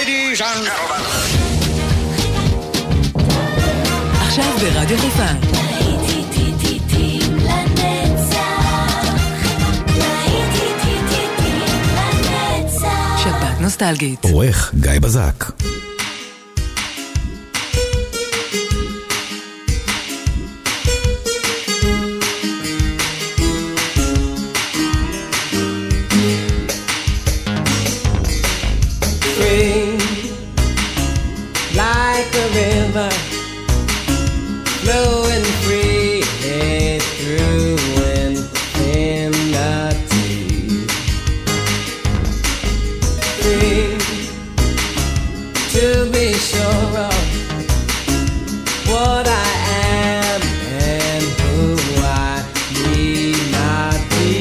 Ladies and gentlemen. עכשיו ברדיו חיפה. שבת נוסטלגית. עורך גיא בזק. Like a river flowing freely through infinity, free to be sure of what I am and who I need not be,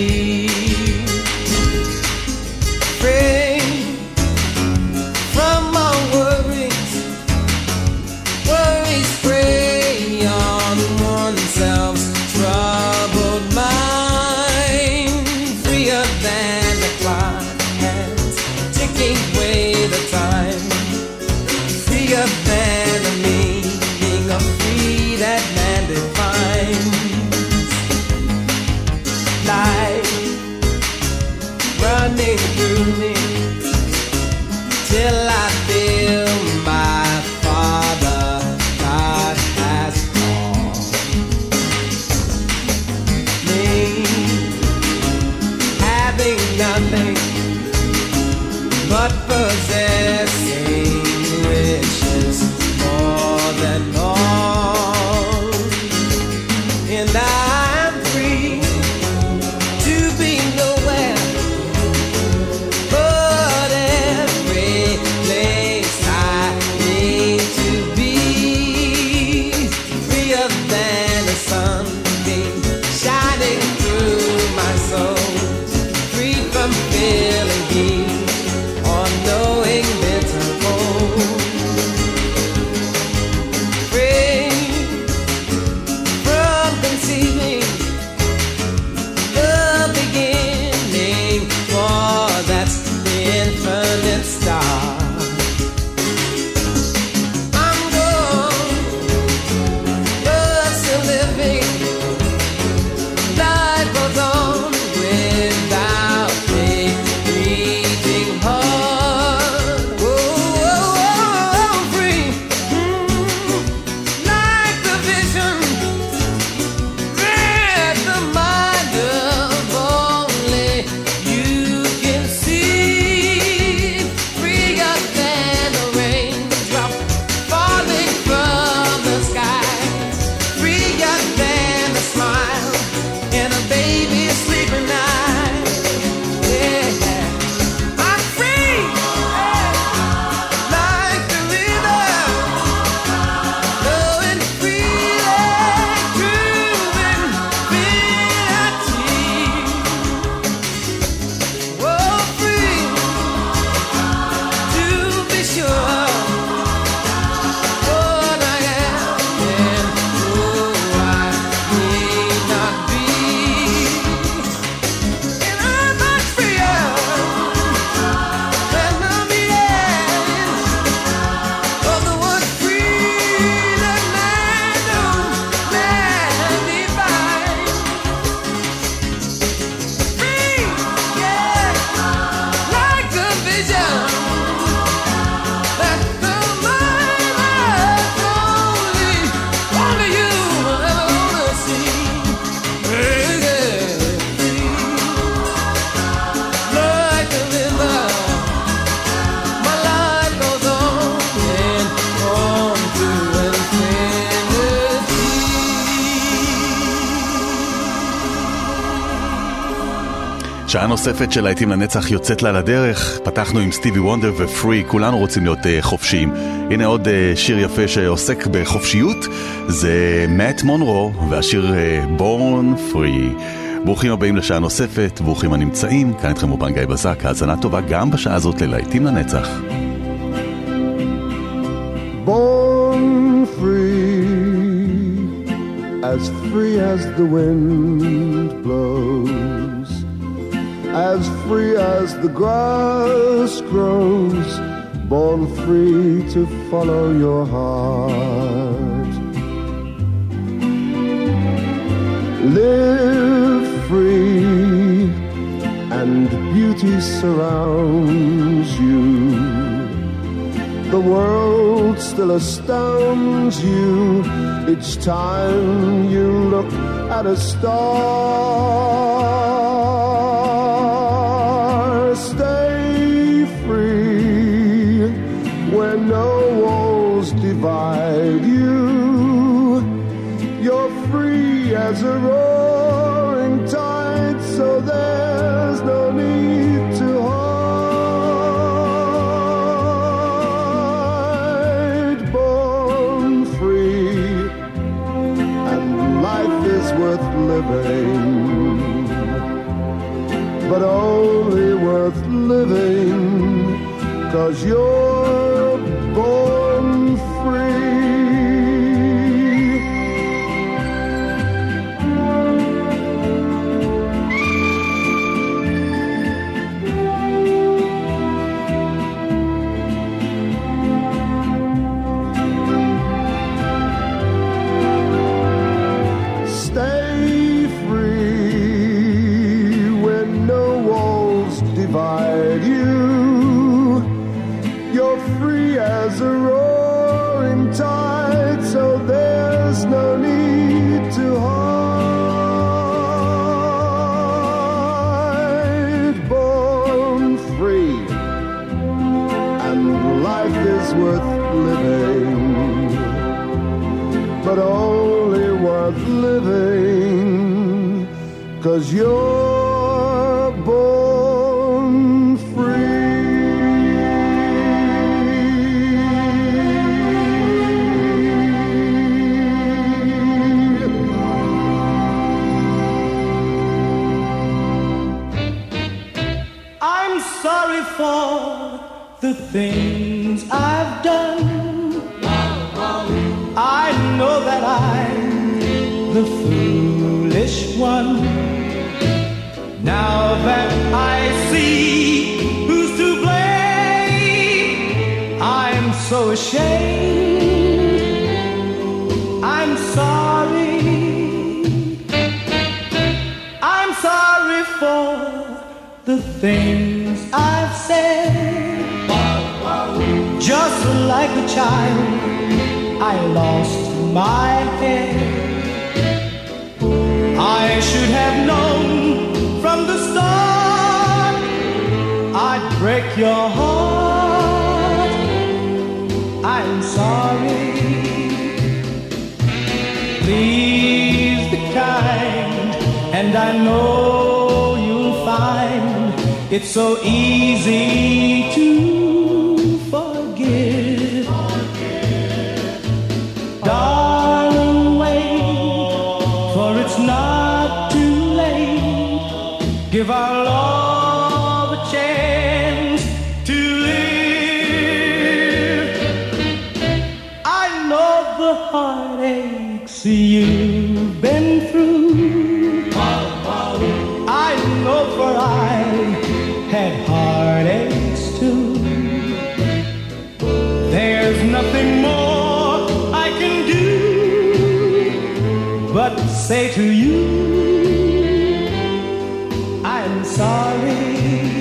free from all worries. Worries prey on oneself's troubled mind, freer than the clock hands ticking away the time, freer than the meaning of free that man defines. Life running through me till I feel my Father God has called me, having nothing but possessing wishes more than all, and I'm free to be nowhere but every place I need to be, freer than a sunbeam shining through my soul, free from feeling heat or knowing bitter cold, free from conceiving the beginning, for that's the infinite star. I'm gone, but still living. Life goes on without me reaching hard. Oh, free, like the vision that the mind of only you can see, freer than a raindrop falling from the sky, freer than a smile and a baby sleeping night. Yeah, I'm free, like the river flowing freely through infinity. Oh, free to be sure what I am and who I need not be, and I'm much freer than the meaning of the word free that man defines. Free, yeah, like a vision that the mind has only you ever wanna see. Like a river, my life goes on and on to infinity. שעה נוספת של להיטים לנצח יוצאת לה לדרך. פתחנו עם סטיבי וונדר ופרי, כולנו רוצים להיות חופשיים. הנה עוד שיר יפה שעוסק בחופשיות, זה מאט מונרו והשיר Born Free. ברוכים הבאים לשעה נוספת, ברוכים הנמצאים, כאן איתכם אופן גיא בזק, האזנה טובה גם בשעה הזאת ללהיטים לנצח. Born free, as free as the wind blows, as free as the grass grows, born free to follow your heart. Live free and beauty surrounds you. The world still astounds you each time you look at a star. Stay free where no walls divide you. You're free as a roaring tide, so there's no need to hide. Born free, and life is worth living, but only worth living 'cause you're born free. As a roaring tide, so there's no need to hide. Born free, and life is worth living, but only worth living 'cause you're born free. For the things I've done, I know that I'm the foolish one. Now that I see who's to blame, I'm so ashamed. I'm sorry. I'm sorry for the things I've said. Just like a child, I lost my head. I should have known from the start I'd break your heart. I'm sorry. Please be kind, and I know you'll find it's so easy to forgive. Darling, wait, for it's not too late. Give our love a chance to live. I know the heartaches you've been through. I know, for I had heartaches too. There's nothing more I can do but say to you, I'm sorry.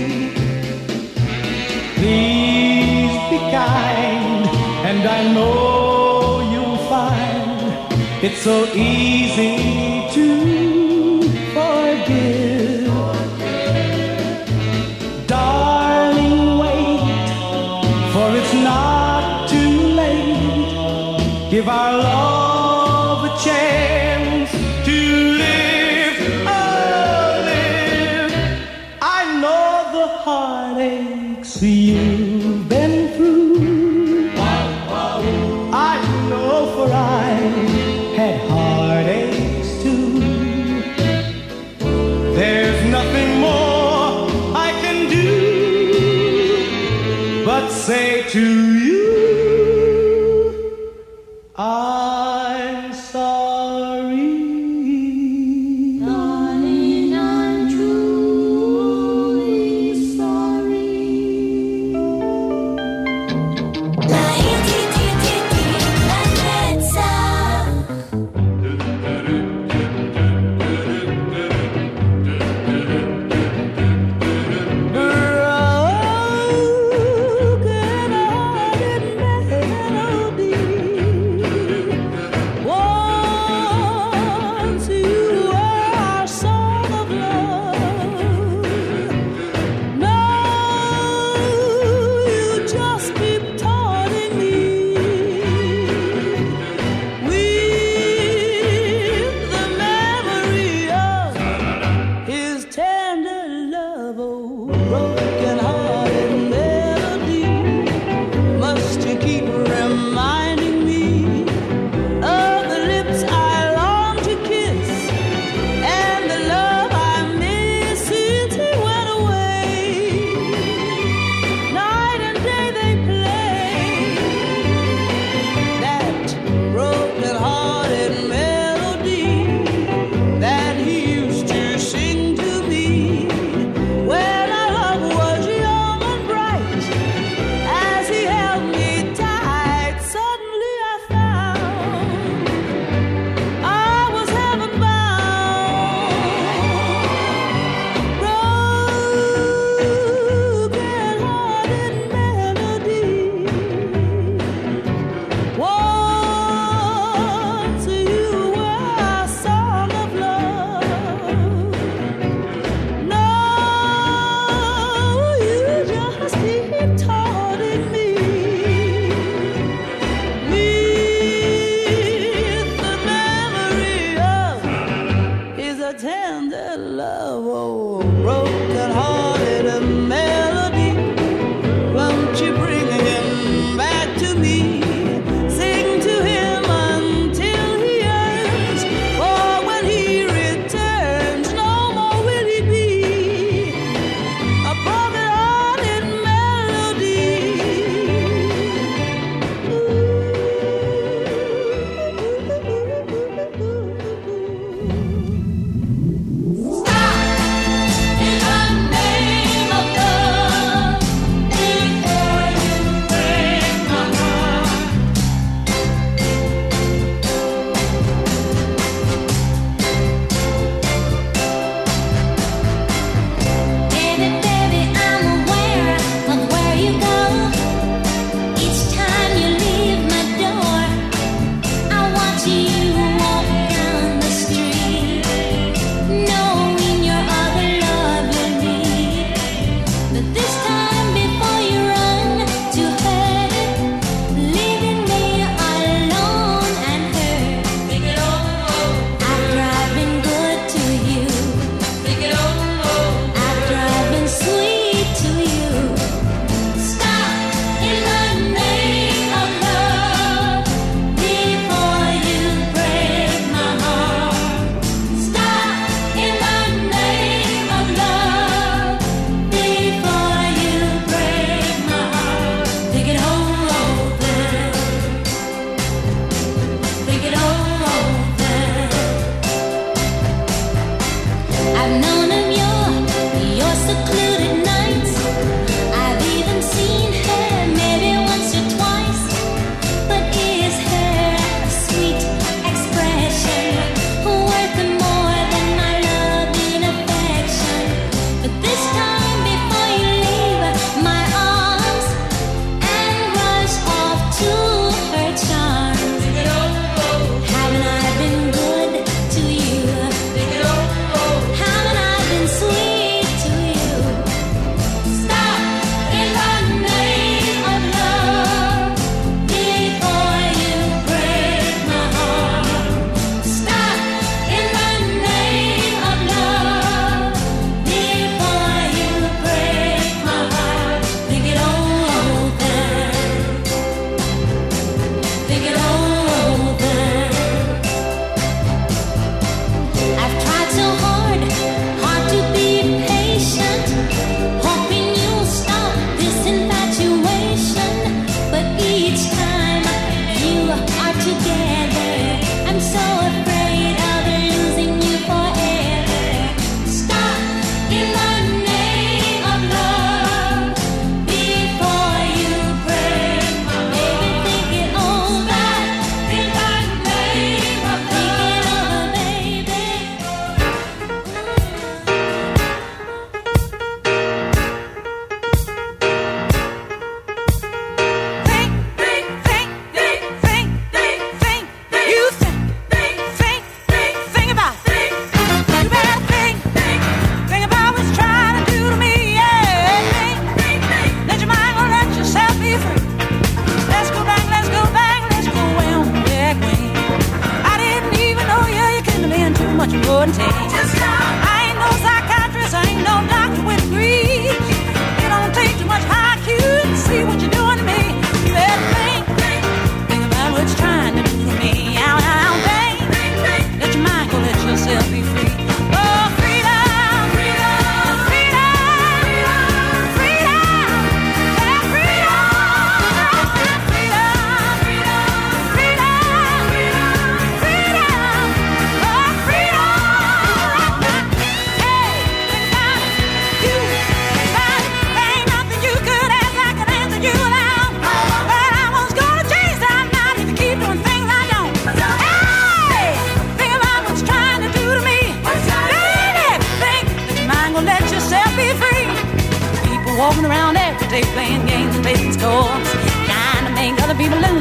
Please be kind, and I know you'll find it's so easy to forgive. Darling, wait, for it's not too late. Give our love a chance to live, oh, live. I know the heartaches you've been through. I know, for I had heartaches too. There's nothing more I can do but say to you, I'm sorry. Darling, I'm truly sorry.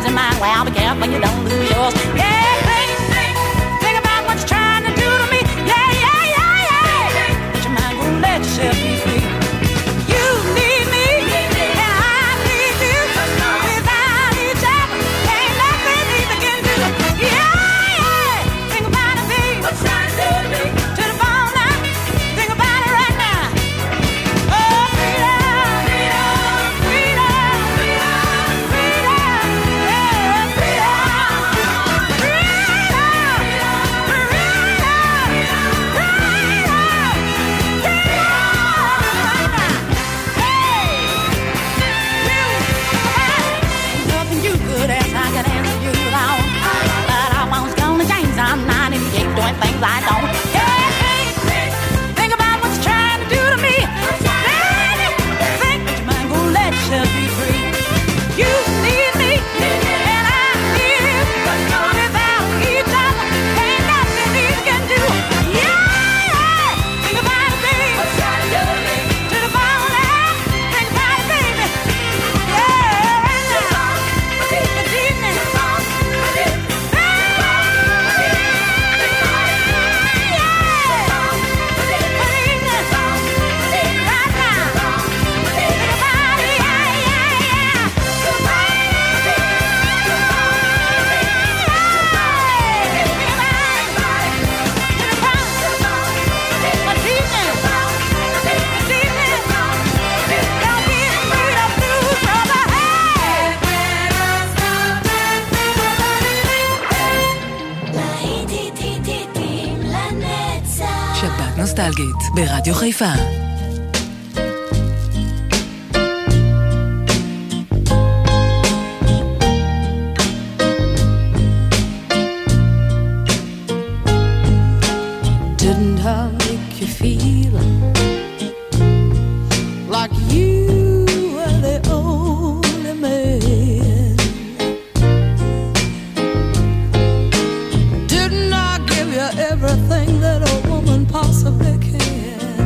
losing mine. Well, be careful you don't lose yours. Yeah, think about what you're trying to do to me. Yeah, yeah, yeah, yeah. But your mind won't let yourself be free. You need me, and I need you. Without each other, ain't nothing either can do. Yeah, yeah. Think about it, babe. What you're trying to do to me. To the bone now. Think about it right now. Oh, freedom, freedom, freedom, freedom, freedom, yeah, freedom, freedom, freedom, freedom. Nothing you could ask, I could answer you without. But I won't gonna change. I'm 98 doing things I don't. Think about what you're trying to do to me. Think that your mind gonna let yourself be free. You need me, and I need you. Without each other, ain't nothing we can do. Yeah, yeah. Think about it, baby. To the bone now. Think about it, baby. Yeah, right now. This evening. שבת נוסטלגית ברדיו חיפה. Didn't I make you feel like you were the only man? Didn't I give you everything that a woman possibly can?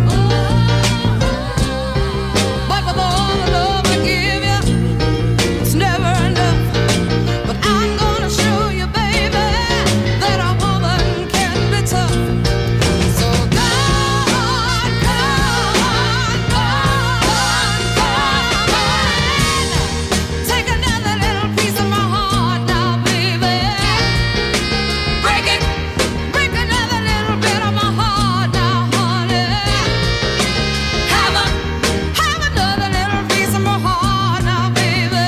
But with all the love I give you, it's never enough. But I'm gonna show you, baby, that a woman can be tough. So go on, go on, go on, go on. Take another little piece of my heart now, baby. Break it, break another little bit of my heart now, honey. Have another little piece of my heart now, baby.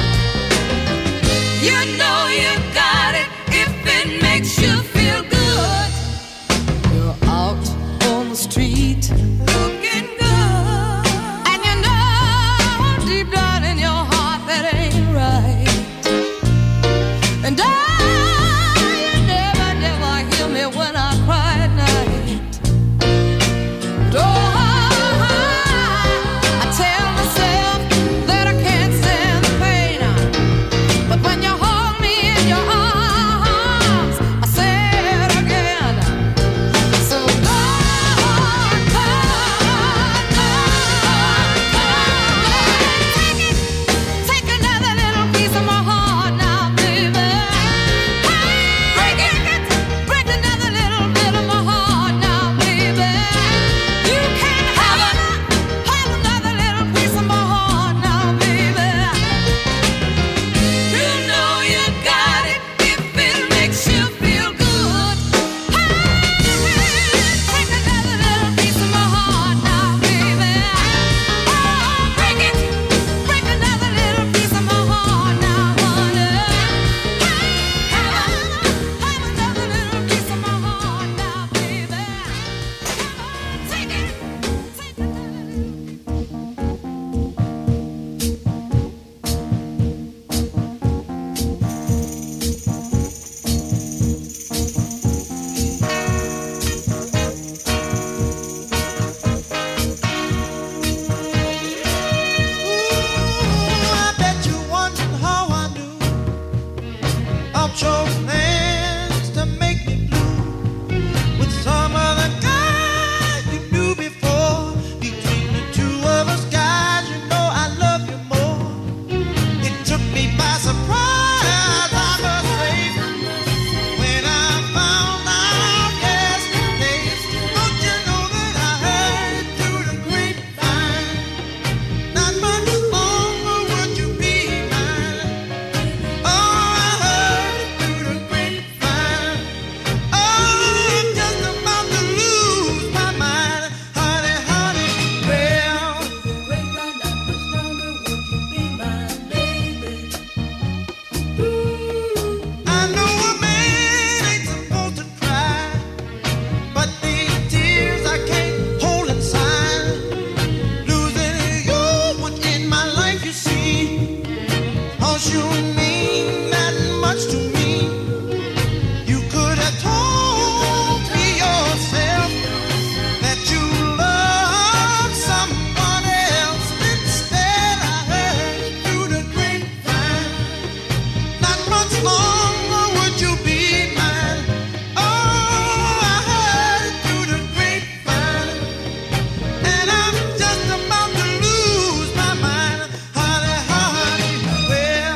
You know you got it if it makes you feel good. You're out on the street looking good, and you know deep down in your heart that ain't right. And you never, never hear me when I cry at night. But I tell myself that I can't stand the pain. But when you hold me in your arms, I say it again. So go on, go on, go on, go on. Take another little piece of my heart now, baby. Break it, break another little bit of my heart now, baby. You can have another little piece of my heart now, baby. You know you got it if it makes you feel good. Take another little piece of my heart now, baby. Break it, break another little piece of my heart now, honey. Have another little piece of my heart now, baby. Take it, take another. I bet you wondered how I knew I chose plans to make me blue with some other guy you knew before. Between the two of us guys, you know I love you more. It took me by surprise. 'cause you mean that much to me. You could have told me yourself that you love someone else. Instead, I heard it through the grapevine. Not much longer would you be mine. Oh, I heard it through the grapevine, and I'm just about to lose my mind. Honey, honey, well,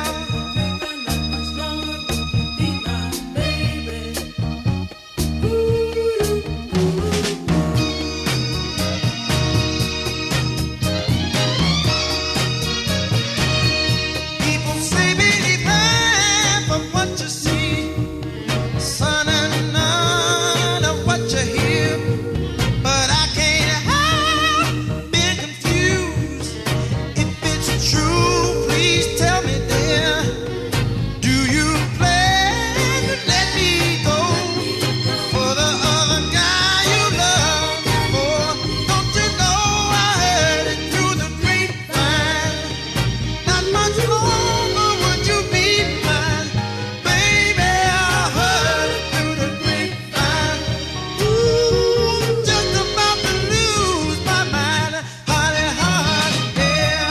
people say believe half of what you see, son, and none of what you hear. But I can't help being confused. If it's true, please tell me, dear. Do you plan to let me go for the other guy you love before? Don't you know I heard it through the grapevine? Not much longer would you be mine, baby. I heard it through the grapevine. Ooh, just about to lose my mind, honey, honey, yeah.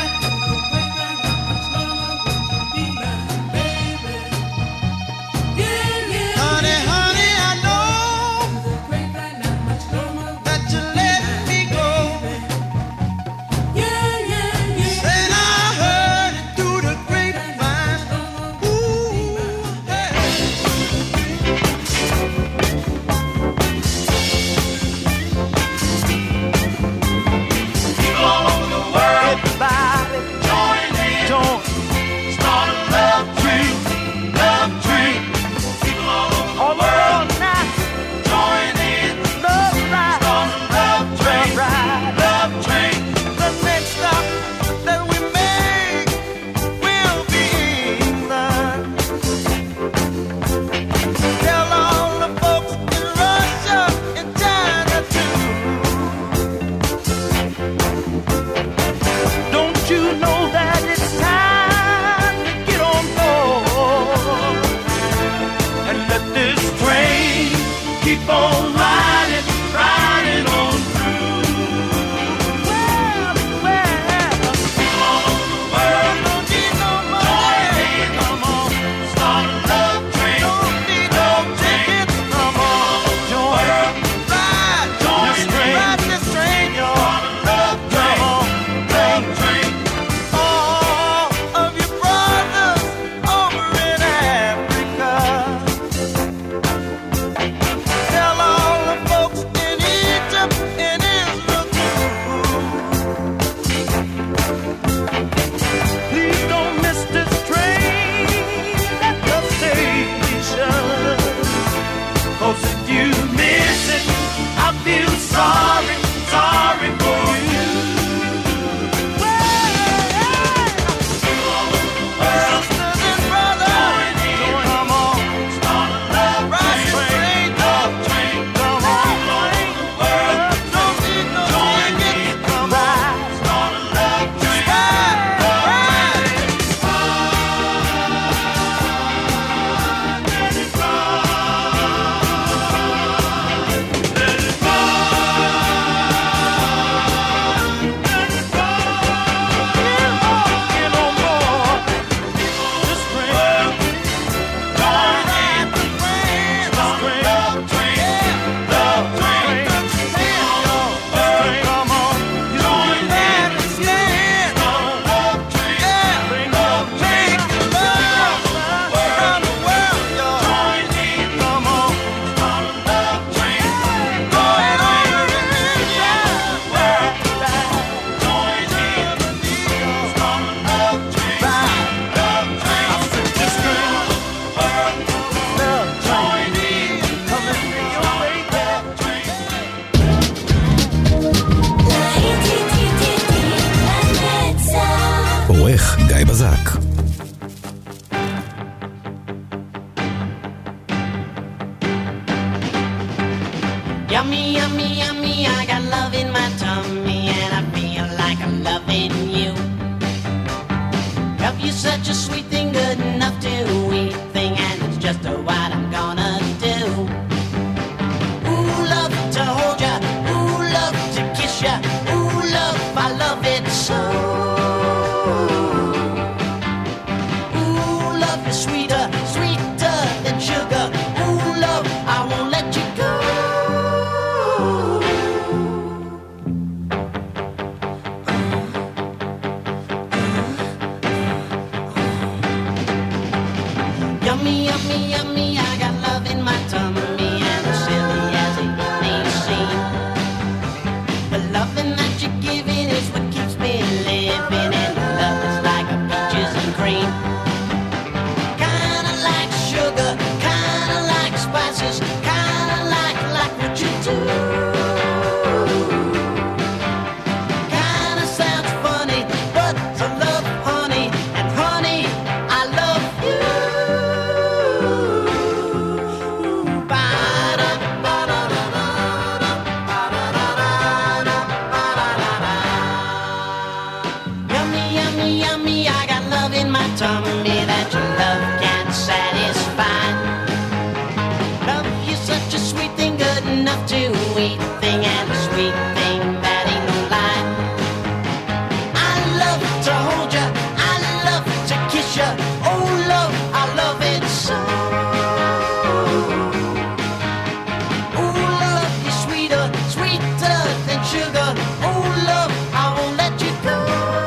Honey, honey, I know that you let me go. Said I heard it through the grapevine. Ooh, hey. People all over the world, everybody join in, start a love train, love train. People all over the world now, join in, start a love train, love train. The next stop that we make will be England. Tell all the folks in Russia and China too. Don't you know that it's time to get on board and let this train Keep on riding, riding on through. People all over the world, join in, start a love train, love train. People all over the world, join in, start a love train, love train. all of your brothers over in Africa. Tell all the folks in Egypt and Israel too. Please don't miss this train at the station, 'Cause if you miss it, I feel sorry, sorry for you. People all over the world, sisters and brothers. join in, Come on, start a love ride the train, train, love train. come on. People all over the world, Don't need no join ticket. in, Come on, start a love train, ride, love ride. train. Let it Get on board this train. join in, start a love train, love train. Come on, Join in, stand. start a love train, love train. Make love around the world, y'all. Join in, Come on, start a love train, going over in join in, start a love train, love train. this train. Love Join in, coming to your way, yeah. עורך גיא בזק. Yummy, yummy, yummy, I got love in my tummy and I feel like I'm loving you. Love you such a sweet thing to enough to eat thing, and it's just what I'm gonna do. Ooh, love to hold ya, ooh, love to kiss ya, ooh, love, I love it so. Ooh, love is sweeter, sweeter than sugar. Ooh, love, I won't let you go. Yummy, yummy, yummy, I got love in my tummy, and as silly as it may seem, the loving that you're giving is what keeps me living, and love is like a peaches and cream. Kinda like sugar, kinda like spices, kinda like what you do. Kinda sounds funny, but I love honey, and honey, I love you. Yummy, yummy, yummy, I got love in my tummy that your love can't satisfy. Love you such a sweet thing, good enough to eat thing, and a sweet thing that ain't no lie. I love to hold ya, I love to kiss ya, oh love, I love it so. Oh love, you're sweeter, sweeter than sugar, oh love, I won't let you go.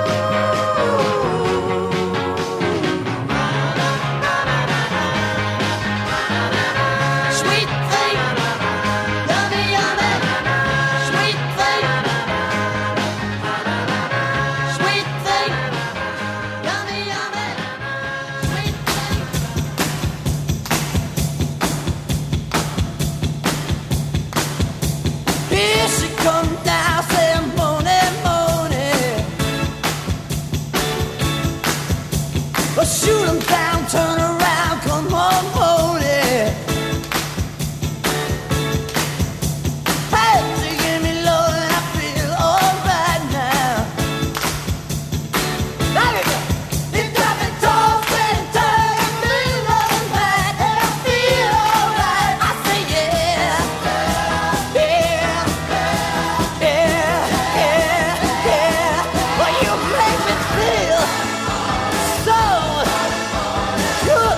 Sweet thing, yummy, yummy, sweet thing, sweet thing, yummy, yummy, sweet thing. Here she comes down, saying morning, morning. But shoot 'em down, turn around, come on, morning. Hey, she give me love and I feel alright now. You got me tossing and turning, feeling right, and I feel alright. I say yeah, yeah, yeah, yeah, yeah. Well, you make me feel so good.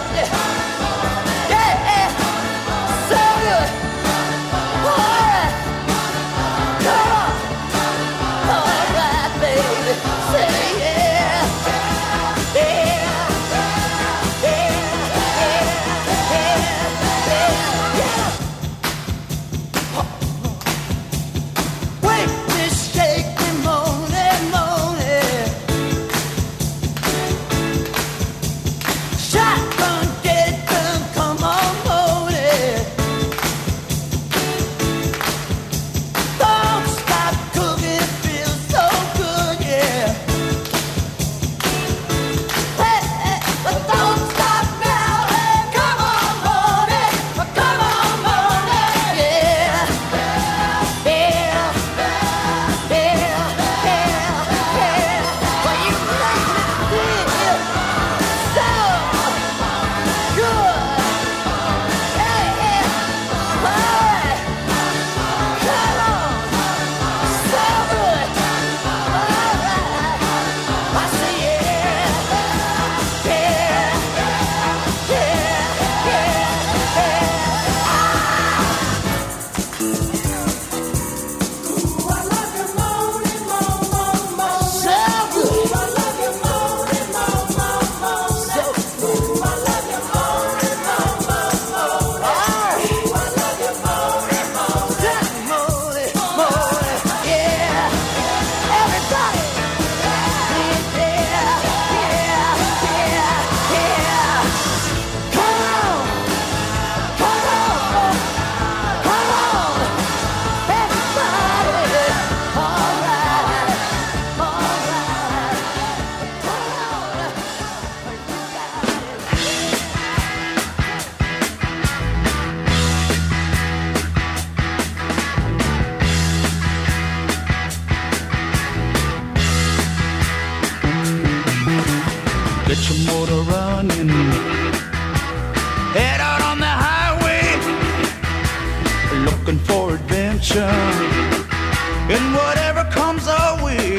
adventure in whatever comes our way.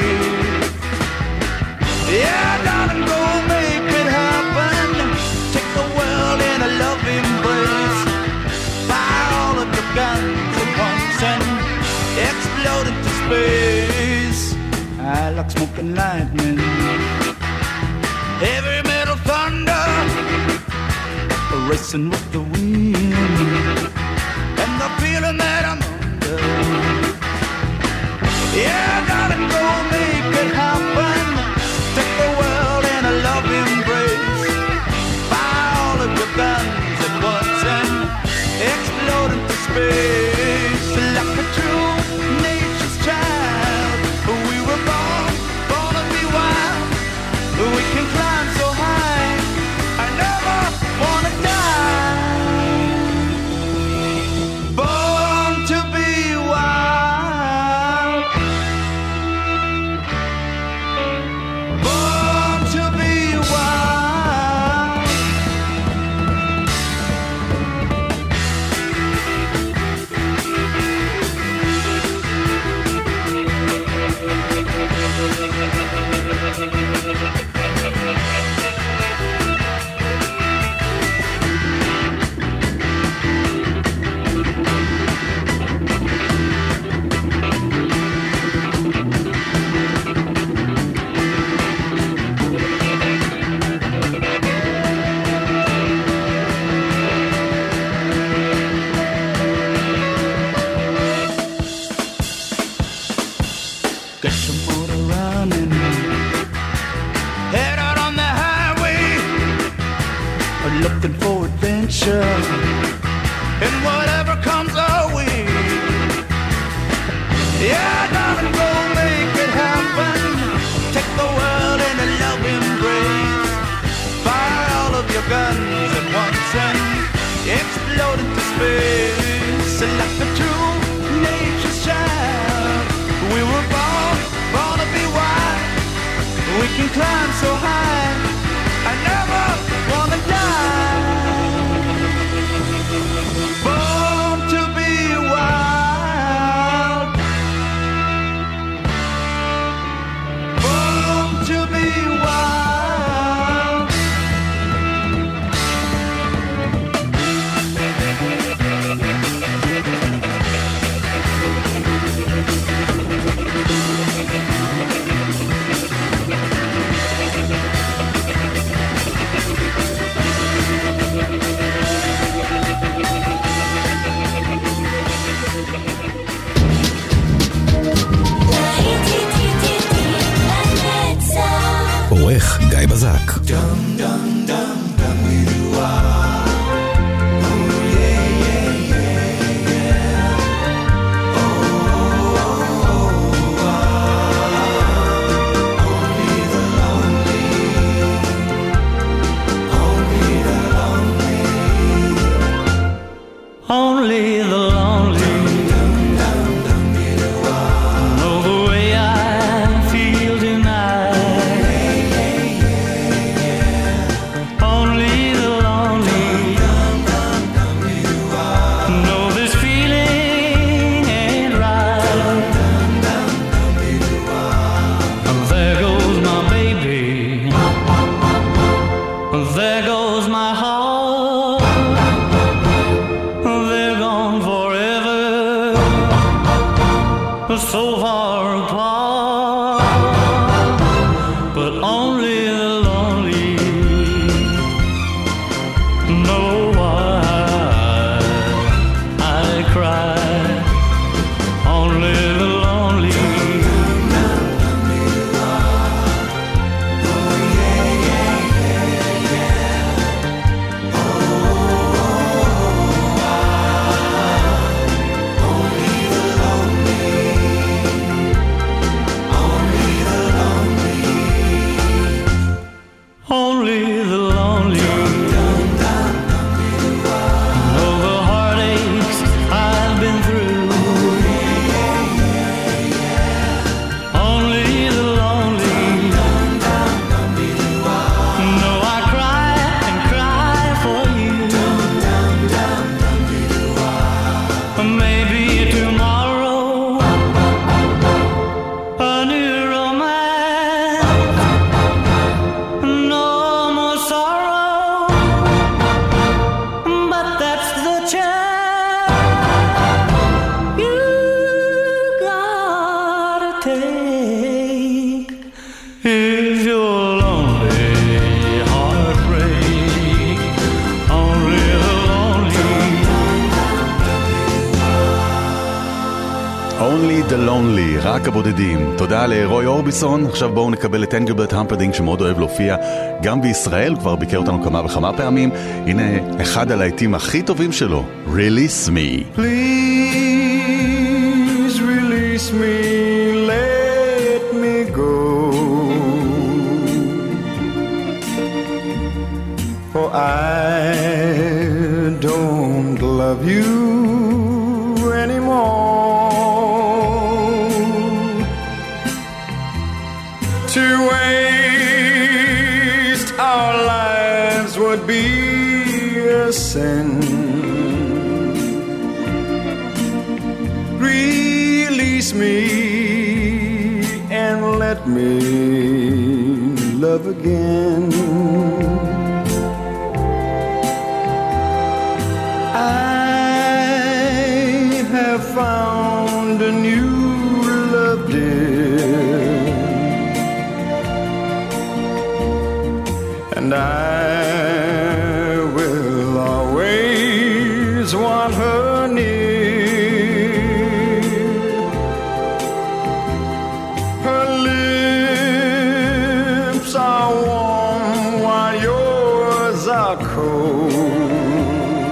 Yeah, darling, go make it happen. Take the world in a love embrace. Fire all of your guns at once and explode into space. I like smoke and lightning, heavy metal thunder, racing with the wind, and the feeling that I'm under. Yeah, darling, go make it happen. Take the world in a love embrace. Fire all of your guns at once and explode into space. Like a true nature's child, we were born to be wild. We can climb so high, I never wanna die. Born to be wild. Born to be wild. Get your motor running, head out on the highway, looking for adventure and whatever comes our way. Yeah, darling, go make it happen. Take the world in a love embrace. Fire all of your guns at once and explode into space. Like the true nature's child, we were born to be wild. We can climb so high, I never wanna die. Born to be wild. Born to be wild. עורך גיא בזק. Only the lonely know the way I feel tonight. Only the lonely know this feeling ain't right. There goes my baby, there goes my heart. They're gone forever, so far apart. But only the lonely know why I cry. Only the lonely. Only the Lonely, רק הבודדים. תודה לרוי אורביסון. עכשיו בואו נקבל את אנגלברט המפרדינג שמאוד אוהב להופיע גם בישראל, כבר ביקר אותנו כמה וכמה פעמים. הנה אחד הלהיטים הכי טובים שלו, Release Me. Please release me, let me go. For I don't love you anymore. To waste our lives would be a sin. Release me and let me love again. I have found a new love, dear, and I will always want her near. Her lips are warm while yours are cold.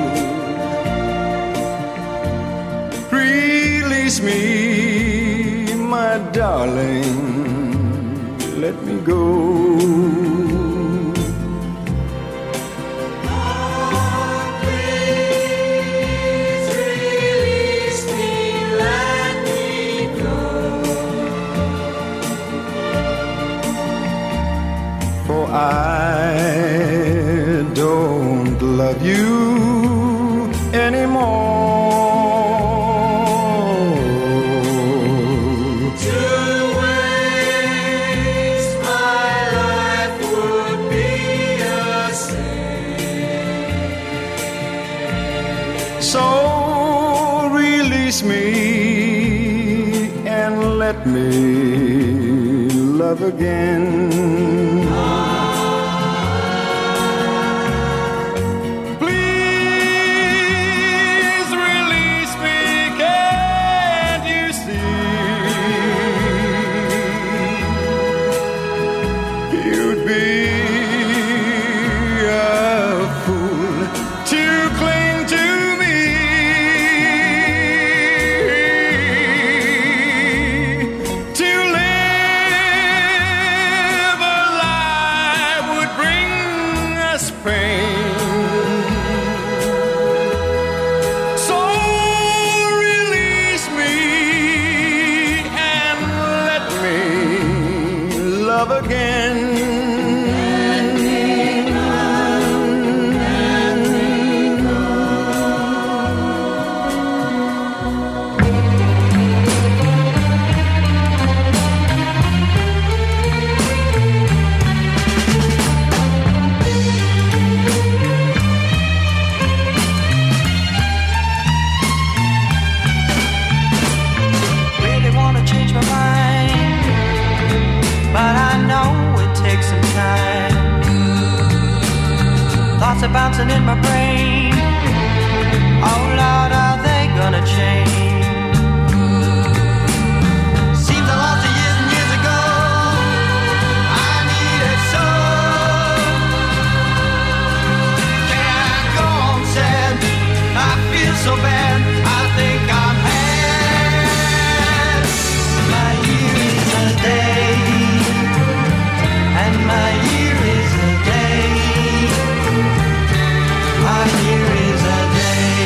Release me, my darling, let me go. I don't love you anymore. To waste my life would be a sin. So release me and let me love again. Are bouncing in my brain. Oh Lord, are they gonna change? Seems I lost it years and years ago. I need it so. Can I go on sad? I feel so bad. I think I'm had. My year is a day, and my year is a day. My year is a day.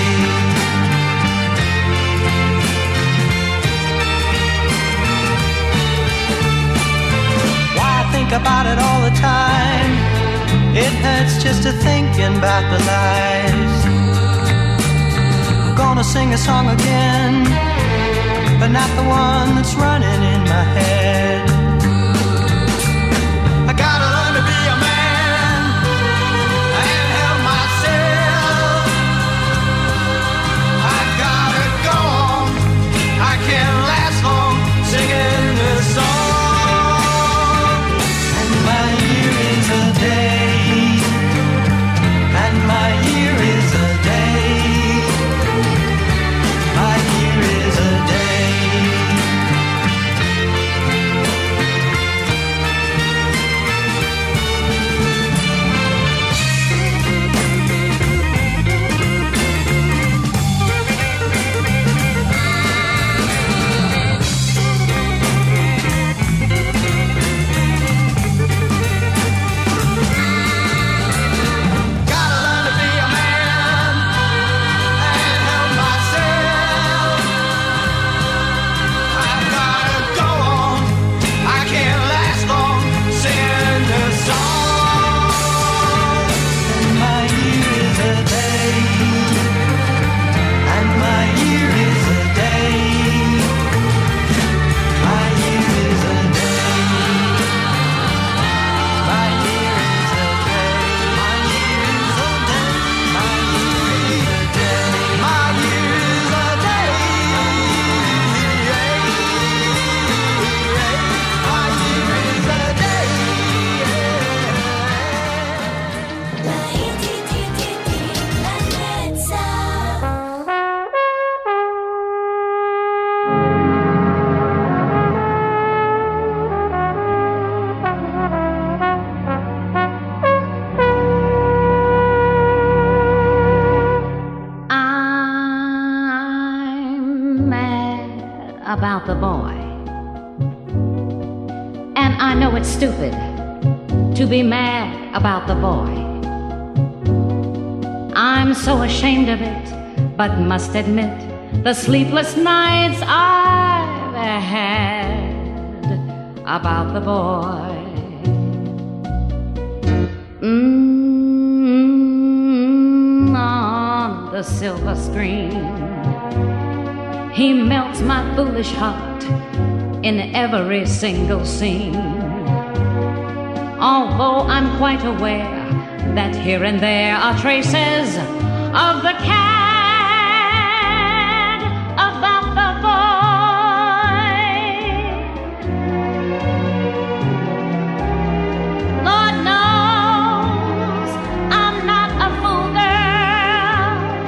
Why I think about it all the time. It hurts just to thinking about the lies. I'm gonna sing a song again, but not the one that's running in my head. I gotta learn to be a man and help myself. I gotta go on. I can't last long singing this song. And my year is a day. And my year is a day. My year is a day. about the boy. And I know it's stupid to be mad about the boy. I'm so ashamed of it, but must admit the sleepless nights I've had about the boy. On the silver screen, he melts my foolish heart in every single scene. Although I'm quite aware that here and there are traces of the cad about the boy. Lord knows I'm not a fool girl.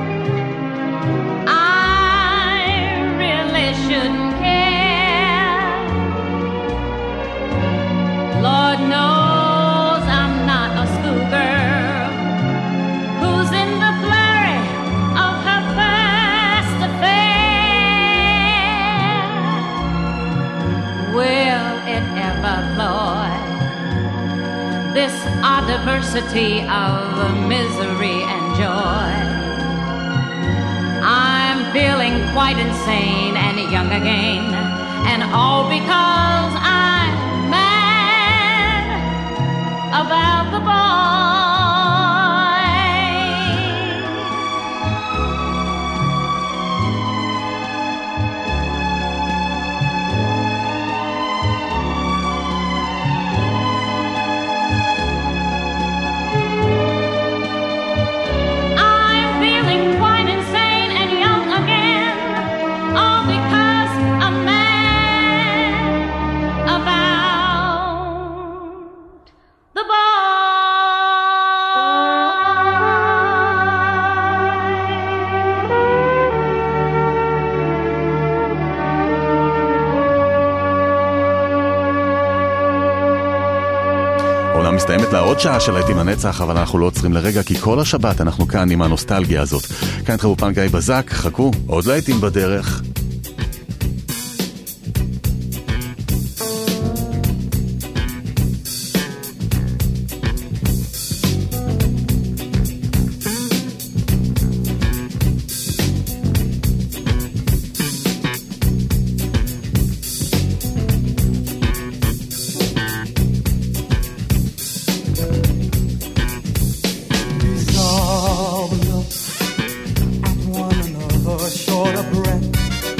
I really shouldn't care. Lord knows I'm not a schoolgirl who's in the flurry of her first affair. Will it ever, Lord, this our diversity of misery and joy? I'm feeling quite insane and young again, and all because I'm mad about the boy. I'm feeling quite insane and young again, all because I'm mad about the boy. העונה מסתיימת לה עוד שעה של להיטים לנצח, אבל אנחנו לא עוצרים לרגע, כי כל השבת אנחנו כאן עם הנוסטלגיה הזאת. כאן איתכם באולפן גיא בזק, חכו, עוד להיטים בדרך. Resolve look at one another, short of breath.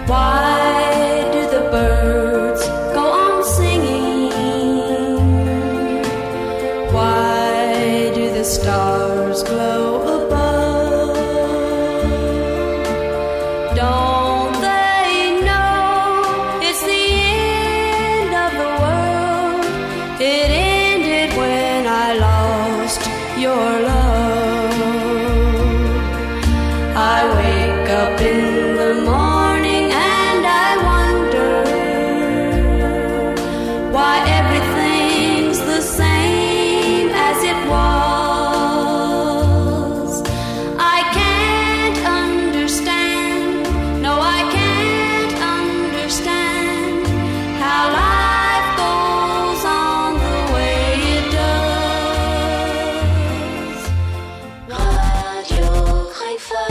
Why do the birds go on singing? Why do the stars glow above? Don't they know it's the end of the world? It ended when I lost your love. I wake up in the morning and I wonder why everything's the same as it was. I can't understand, no I can't understand how life goes on the way it does. Radio Haifa.